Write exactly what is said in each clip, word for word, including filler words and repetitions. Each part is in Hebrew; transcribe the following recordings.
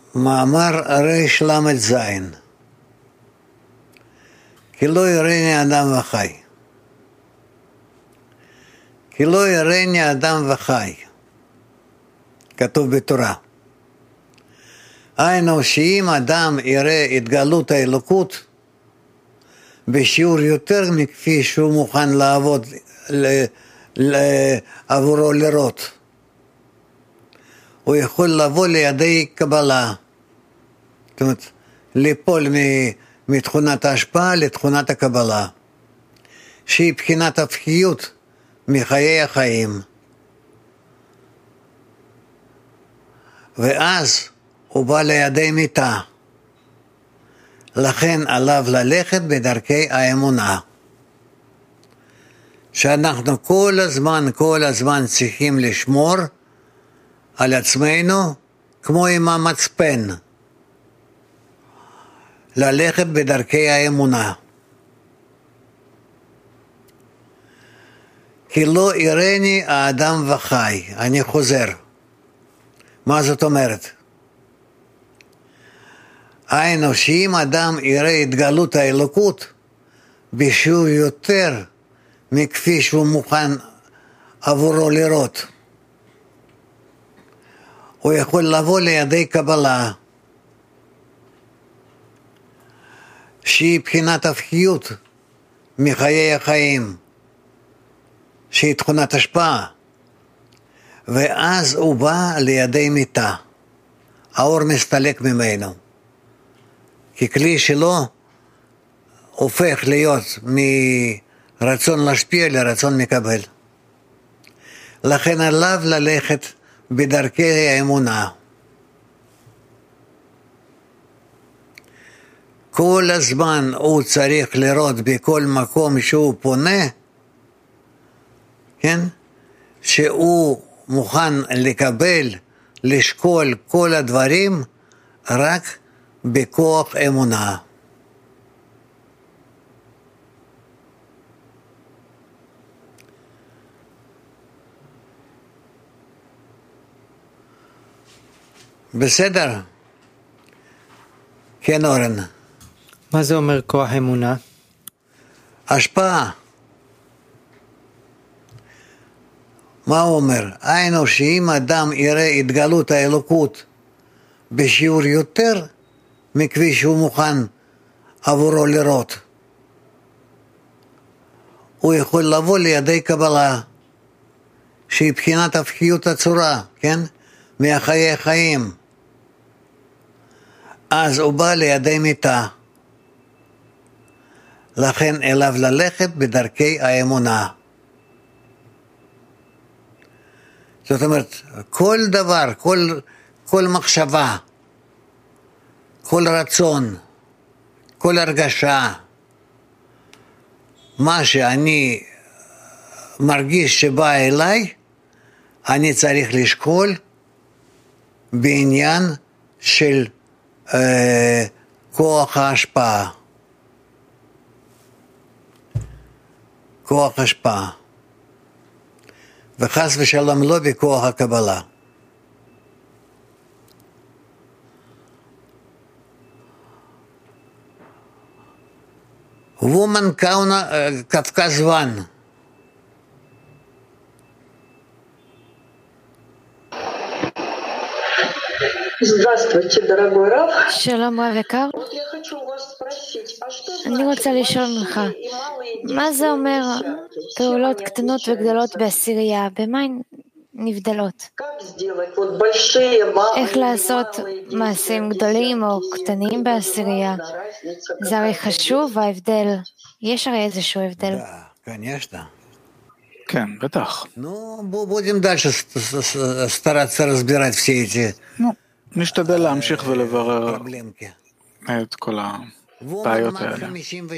מאמר ריש למד זין, כי לא יראני אדם וחי. כי לא יראני אדם וחי, כתוב בתורה. היינו שאם אדם יראה התגלות האלוקות בשיעור יותר מכפי שהוא מוכן לעבוד ל, ל, עבורו לראות, הוא יכול לבוא לידי קבלה, זאת אומרת ליפול מתכונת ההשפעה לתכונת הקבלה, שהיא בחינת הפחיות מחיי החיים, ואז הוא בא לידי מיתה. לכן עליו ללכת בדרכי האמונה, שאנחנו כל הזמן, כל הזמן צריכים לשמור על עצמנו כמו עם המצפן, ללכת בדרכי האמונה. כי לא יראני האדם וחי. אני חוזר. מה זאת אומרת? היינו שאם אדם יראה התגלות האלוקות בשיעור יותר מכפי שהוא מוכן עבורו לראות, הוא יכול לבוא לידי קבלה, שהיא בחינת הפחיות מחיי החיים, שהיא תכונת השפעה, ואז הוא בא לידי מיתה. האור מסתלק ממנו, כי כלי שלו הופך להיות מרצון להשפיע לרצון מקבל. לכן עליו ללכת בדרכי האמונה. כל הזמן הוא צריך לראות בכל מקום שהוא פונה, כן? שהוא מוכן לקבל, לשקול כל הדברים רק בכוח אמונה. בסדר? כן, אורן. מה זה אומר כוח אמונה? השפעה. מה הוא אומר? היינו שאם אדם יראה התגלות האלוקות בשיעור יותר מכפי שהוא מוכן עבורו לראות, הוא יכול לבוא לידי קבלה, שהיא בחינת הפחיות הצורה, כן? מהחיי החיים. אז הוא בא לידי מיתה. לכן אליו ללכת בדרכי האמונה. זאת אומרת, כל דבר, כל, כל מחשבה, כל רצון, כל הרגשה, מה שאני מרגיש שבא אליי, אני צריך לשקול בעניין של אה, כוח ההשפעה. כוח השפעה. וחס ושלום לא בכוח הקבלה. Woman Кавказ One. Здравствуйте, дорогой Рав. שלום רב יקר, אני רוצה לשאול ממך, מה זה אומר פעולות קטנות וגדולות בעשירייה? במה הן נבדלות? איך לעשות מעשים גדולים או קטנים בעשירייה? זה הרי חשוב ההבדל, יש הרי איזשהו הבדל. כן, בטח. Ну, будем дальше стараться разбирать все эти נשתדל להמשיך ולברר את כל הבעיות האלה.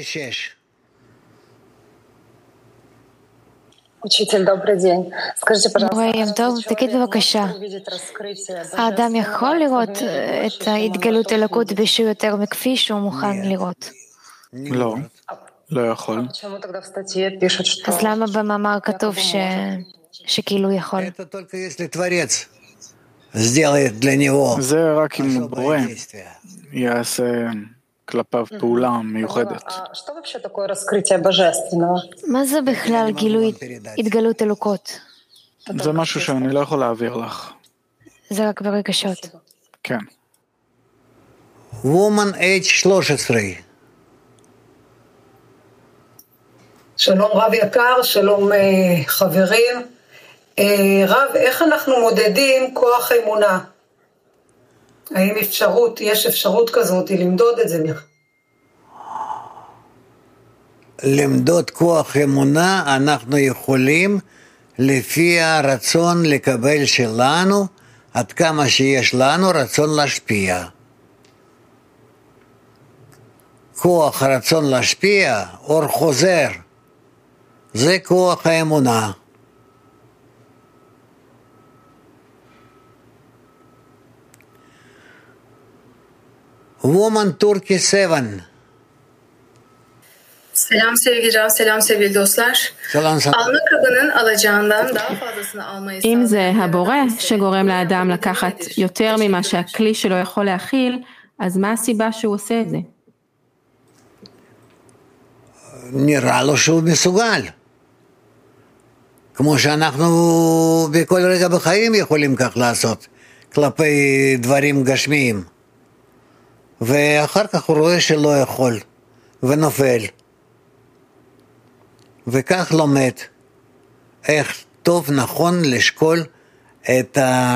Учитель, добрый день. Скажите, מורה טוב, תגיד בבקשה, האדם יכול לראות את ההתגלות אלוקות בשיעור יותר מכפי שהוא מוכן לראות? לא, לא יכול. אז למה במאמר כתוב שכאילו יכול? сделает для него זה רק אם особое בורא действие. יעשה כלפיו פעולה מיוחדת. Что вообще такое раскрытие божественного? מה זה בכלל גילוי התגלות אלוקות? זה משהו שאני לא יכול להעביר לך. זה רק ברגשות. כן. Woman Age שלוש עשרה. שלום רב יקר, שלום חברים. רב, איך אנחנו מודדים כוח אמונה? האם אפשרות, יש אפשרות כזאת למדוד את זה? למדוד כוח אמונה אנחנו יכולים לפי הרצון לקבל שלנו, עד כמה שיש לנו רצון להשפיע. כוח הרצון להשפיע, אור חוזר, זה כוח האמונה. Woman Turkey seven. Selam sevgili Rav, selam sevgili dostlar. Selam sana. Alma kabının alacağından daha fazlasını almayı אם זה הבורא שגורם לאדם לקחת יותר ממה שהכלי שלו יכול להכיל, אז מה הסיבה שהוא עושה את זה? נראה לו שהוא מסוגל. כמו שאנחנו בכל רגע בחיים יכולים כך לעשות, כלפי דברים גשמיים. ואחר כך הוא רואה שלא יכול, ונופל. וכך לומד איך טוב נכון לשקול את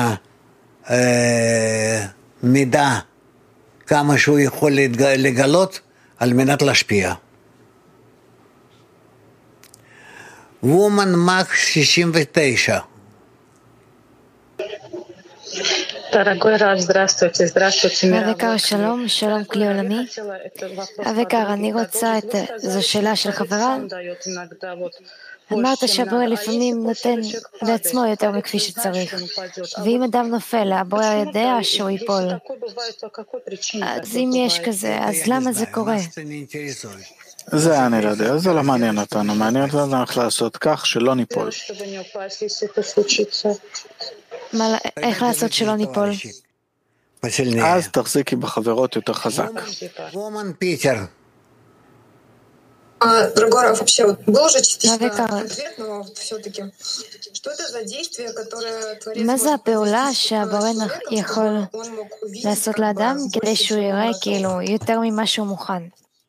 המידע, כמה שהוא יכול לגלות על מנת להשפיע. וומן מק שישים ותשע. אביקר שלום, שלום כלי עולמי. אביקר, אני רוצה את, זו שאלה של חברה. אמרת שהבורא לפעמים נותן לעצמו יותר מכפי שצריך. ואם אדם נופל, הבורא יודע שהוא ייפול. אז אם יש כזה, אז למה זה קורה? זה אני לא יודע, זה לא מעניין אותנו, מעניין אותנו איך לעשות כך שלא ניפול. איך לעשות שלא ניפול? אז תחזיקי בחברות יותר חזק. וומן פיטר. Дорогой Раф, вообще был же частично ответ, но все-таки, что это за действие, которое Творец... מה זה הפעולה שהבורא יכול לעשות לאדם כדי שהוא יראה כאילו יותר ממה שהוא מוכן?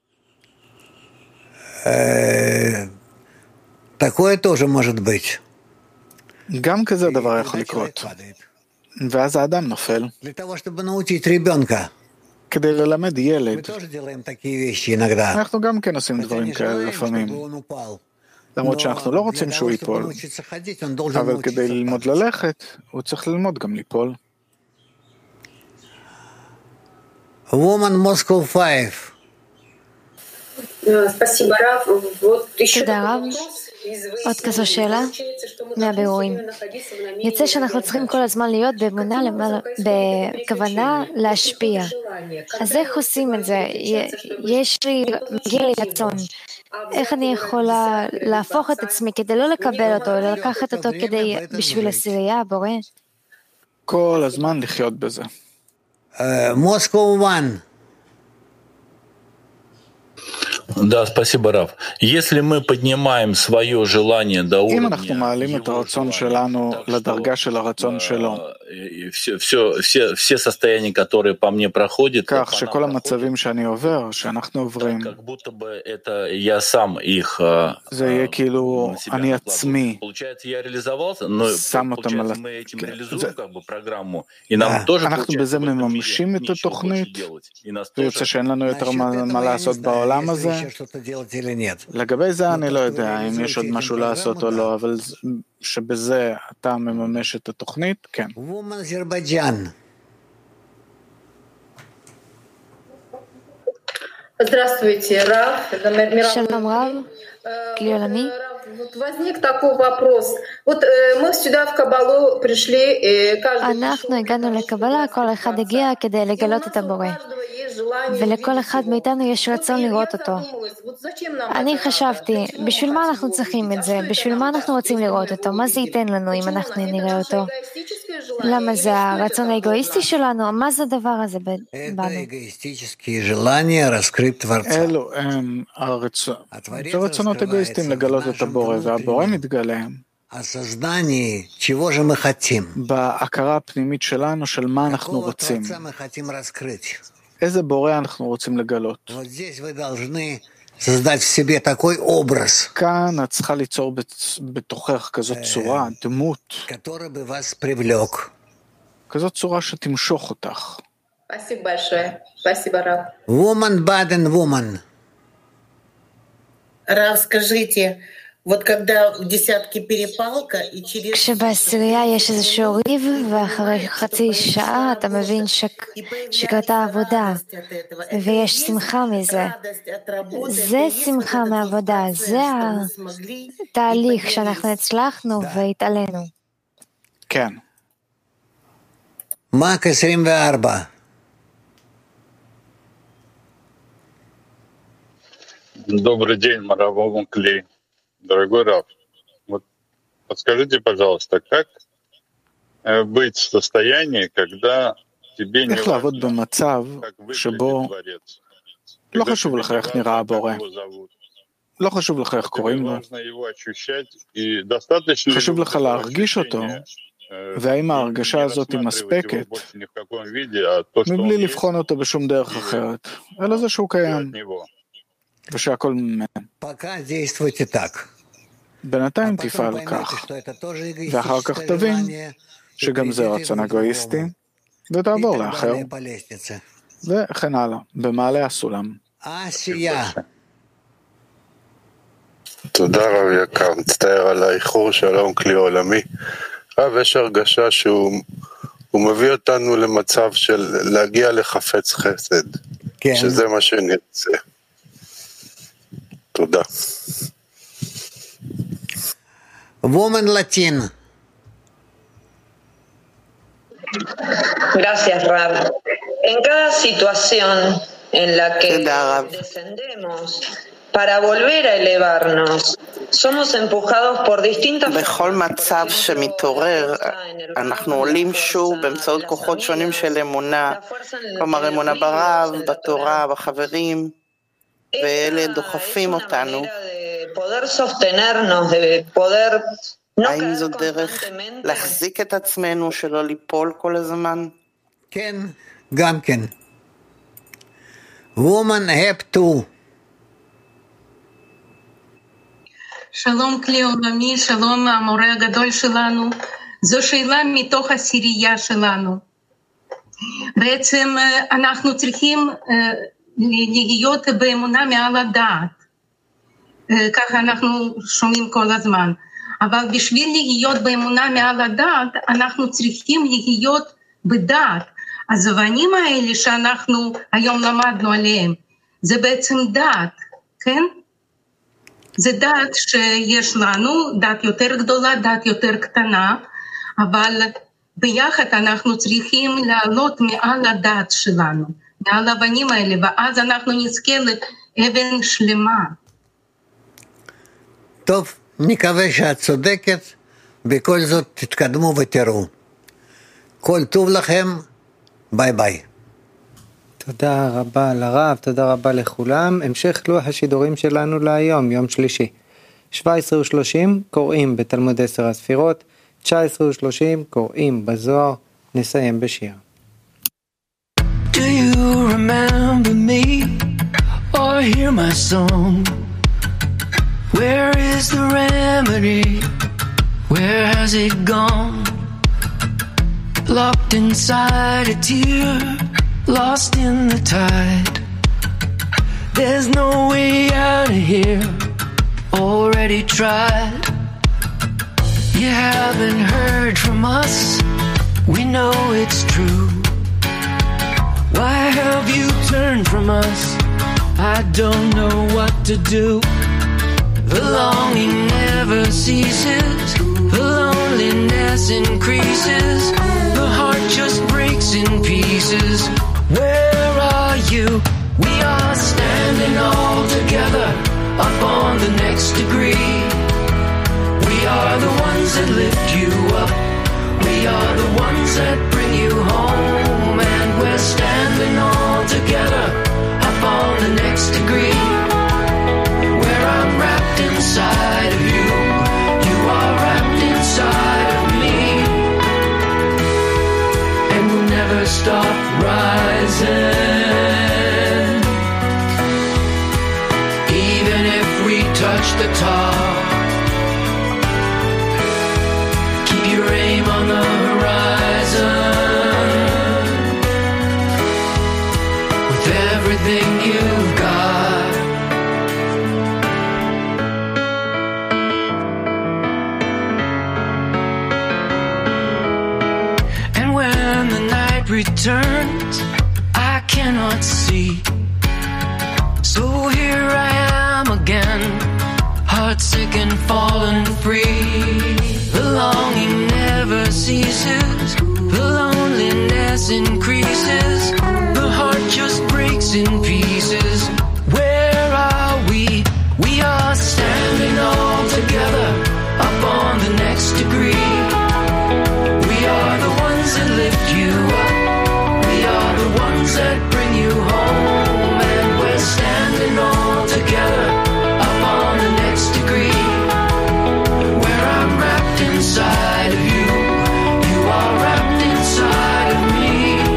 Такое тоже может быть. גם כזה דבר יכול לקרות. ואז האדם נופל. Для того, чтобы научить ребенка. כדי ללמד ילד. Мы тоже делаем такие вещи иногда. אנחנו גם כן עושים דברים כאלה לפעמים. למרות שאנחנו לא רוצים שהוא ייפול. אבל כדי ללמוד ללכת, הוא צריך ללמוד גם ליפול. Woman Moscow five. Спасибо, Раф. Вот еще תודה רב. עוד כזו שאלה מהבירורים. יוצא שאנחנו צריכים כל הזמן להיות באמונה, בכוונה להשפיע. אז איך עושים את זה? יש לי, מגיע לי רצון. איך אני יכולה להפוך את עצמי כדי לא לקבל אותו, אלא לקחת אותו כדי, בשביל עשירייה, בורא? כל הזמן לחיות בזה. Moscow one. Да, спасибо, Раф. Если мы поднимаем свое желание до уровня... אם אנחנו מעלים את הרצון שלנו לדרגה של הרצון שלו, все, все, все, все состояния, которые по мне проходят, כך שכל המצבים שאני עובר, שאנחנו עוברים, как будто бы это я сам их... זה יהיה כאילו אני עצמי שם אותם על... אנחנו בזה מממשים את התוכנית, ויוצא שאין לנו יותר מה לעשות בעולם הזה. לגבי זה אני לא יודע אם יש עוד משהו לעשות או לא, אבל שבזה אתה מממש את התוכנית, כן. Здравствуйте, Раф. שלום רב, כלי עולמי. Возник такой вопрос. Вот мы сюда в Кабалу пришли, каждый... אנחנו הגענו לקבלה, כל אחד הגיע כדי לגלות את הבורא. ולכל אחד מאיתנו יש רצון לראות אותו. אני חשבתי, בשביל מה אנחנו צריכים את זה? בשביל מה אנחנו רוצים לראות אותו? מה זה ייתן לנו אם אנחנו נראה אותו? למה זה הרצון האגואיסטי שלנו? מה זה הדבר הזה בנו? אלו הם רצונות אגואיסטיים לגלות את הבורא, והבורא מתגלה בהכרה הפנימית שלנו של מה אנחנו רוצים. איזה בורא אנחנו רוצים לגלות. כאן את צריכה ליצור בתוכך כזאת צורה, דמות, כזאת צורה שתמשוך אותך. Woman Baden Woman. Рав, скажите, вот когда в десятке перепалка и через... כשבעשירייה יש איזשהו ריב ואחרי חצי שעה אתה מבין שקרתה עבודה ויש שמחה מזה. זה שמחה מעבודה, זה התהליך שאנחנו הצלחנו והתעלינו. כן. מק עשרים וארבע. Добрый день, Маравом Клей. Дорогой Рав, вот подскажите, пожалуйста, как быть в состоянии, когда тебе не важно, как выглядит дворец? לא חשוב לך איך נראה הבורא. לא חשוב לך איך קוראים לו. חשוב לך להרגיש אותו, והאם ההרגשה הזאת היא מספקת, מבלי לבחון אותו בשום דרך אחרת, אלא זה שהוא קיים. ושהכל ממנו. בינתיים תפעל כך, ואחר כך תבין שגם זה רצון אגואיסטי, ותעבור לאחר, וכן הלאה, במעלה הסולם. תודה רב יקר, מצטער על האיחור, שלום כלי עולמי. רב, יש הרגשה שהוא מביא אותנו למצב של להגיע לחפץ חסד, שזה מה שנרצה. תודה. Woman Latin. Gracias, Rab. En cada situación en la que descendemos para volver a elevarnos, somos empujados por distintas... בכל מצב שמתעורר, אנחנו עולים שוב באמצעות כוחות שונים של אמונה, כלומר אמונה ברב, בתורה, בחברים, ואלה דוחפים אותנו. האם זו דרך להחזיק את עצמנו שלא ליפול כל הזמן? כן, גם כן. Woman have to. שלום כלי עולמי, שלום המורה הגדול שלנו. זו שאלה מתוך הסירייה שלנו. בעצם אנחנו צריכים להיות באמונה מעל הדעת. ככה אנחנו שומעים כל הזמן. אבל בשביל להיות באמונה מעל הדעת, אנחנו צריכים להיות בדעת. הזבנים האלה שאנחנו היום למדנו עליהם, זה בעצם דעת, כן? זה דעת שיש לנו, דעת יותר גדולה, דעת יותר קטנה, אבל ביחד אנחנו צריכים לעלות מעל הדעת שלנו, מעל הבנים האלה, ואז אנחנו נזכה לאבן שלמה. טוב, נקווה שאת צודקת, בכל זאת תתקדמו ותראו. כל טוב לכם, ביי ביי. תודה רבה לרב, תודה רבה לכולם. המשך לוח השידורים שלנו להיום, יום שלישי. שבע עשרה ושלושים קוראים בתלמוד עשר הספירות, תשע עשרה ושלושים קוראים בזוהר. נסיים בשיר. Do you remember me or hear my song? Where is the remedy? Where has it gone? Locked inside a tear, lost in the tide. There's no way out of here, already tried. You haven't heard from us, we know it's true. Why have you turned from us? I don't know what to do. The longing never ceases, the loneliness increases, the heart just breaks in pieces. Where are you? We are standing all together up on the next degree. We are the ones that lift you up. We are the ones that bring you home, and we're standing all together up on the next degree, where I'm wrapped inside of you, you are wrapped inside of me, and we'll never stop rising, even if we touch the top. Keep your aim on the horizon, with everything you've got. And when the night returns, I cannot see, so here I am again, heartsick and fallen free. The longing never ceases, the loneliness increases, the heart just breaks in pieces. Where are we? We are standing all together up on the next degree. We are the ones that lift you up, we are the ones that bring you home, and we're standing all together up on the next degree, where I'm wrapped inside of you, you are wrapped inside of me.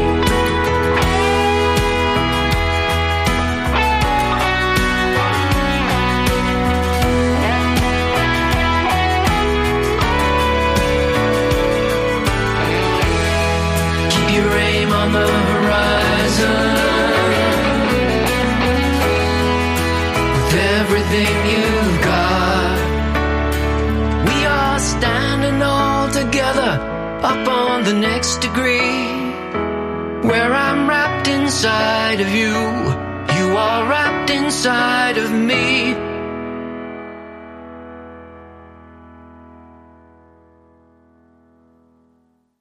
Keep your aim on the horizon, with everything you've got. We are standing all together up on the next degree, where I'm wrapped inside of you, you are wrapped inside of me.